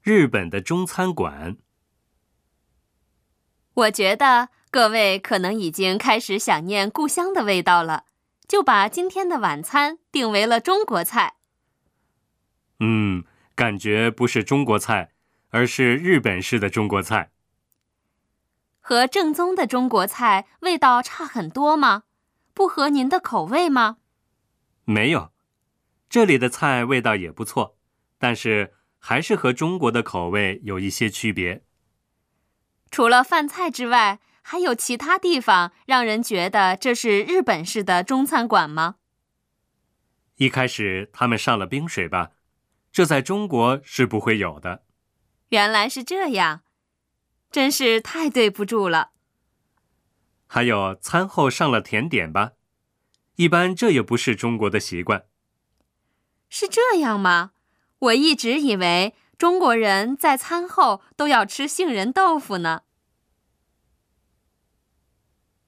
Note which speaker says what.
Speaker 1: 日本的中餐馆。
Speaker 2: 我觉得各位可能已经开始想念故乡的味道了，就把今天的晚餐定为了中国菜。
Speaker 1: 感觉不是中国菜，而是日本式的中国菜。
Speaker 2: 和正宗的中国菜味道差很多吗？不合您的口味吗？
Speaker 1: 没有，这里的菜味道也不错，但是还是和中国的口味有一些区别。
Speaker 2: 除了饭菜之外，还有其他地方让人觉得这是日本式的中餐馆吗？
Speaker 1: 一开始他们上了冰水吧，这在中国是不会有的。
Speaker 2: 原来是这样，真是太对不住了。
Speaker 1: 还有餐后上了甜点吧，一般这也不是中国的习惯。
Speaker 2: 是这样吗？我一直以为中国人在餐后都要吃杏仁豆腐呢。